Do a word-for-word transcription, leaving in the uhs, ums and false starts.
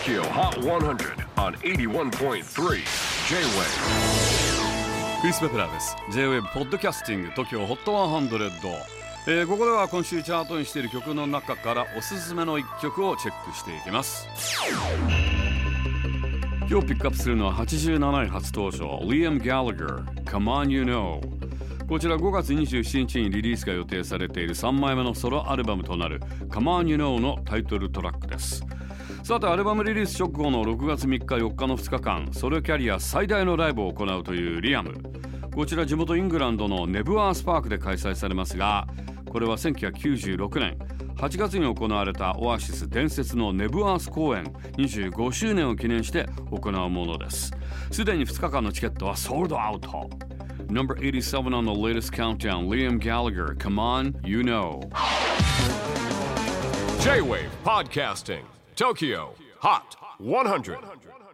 Tokyo Hot one hundred on エイティワンポイントスリー J-Wave。 クリス・ペプラーです。 J-Wave ポッドキャスティング Tokyo Hot ひゃく、えー、ここでは今週チャートにしている曲の中からおすすめのいっきょくをチェックしていきます。今日ピックアップするのははちじゅうなない初登場 Liam Gallagher Come On You Know。 こちらごがつにじゅうしちにちにリリースが予定されているさんまいめのソロアルバムとなる Come On You Know のタイトルトラックです。さてアルバムリリース直後のろくがつみっかよっかのふつかかんソロキャリア最大のライブを行うというリアム。こちら地元イングランドのネブアースパークで開催されますが、これはせんきゅうひゃくきゅうじゅうろくねんはちがつに行われたオアシス伝説のネブアース公演にじゅうごしゅうねんを記念して行うものです。すでにふつかかんのチケットはソールドアウト。 Number eighty-seven on the latest countdown Liam Gallagher Come On You Know。 J-Wave Podcasting Tokyo Hot one hundred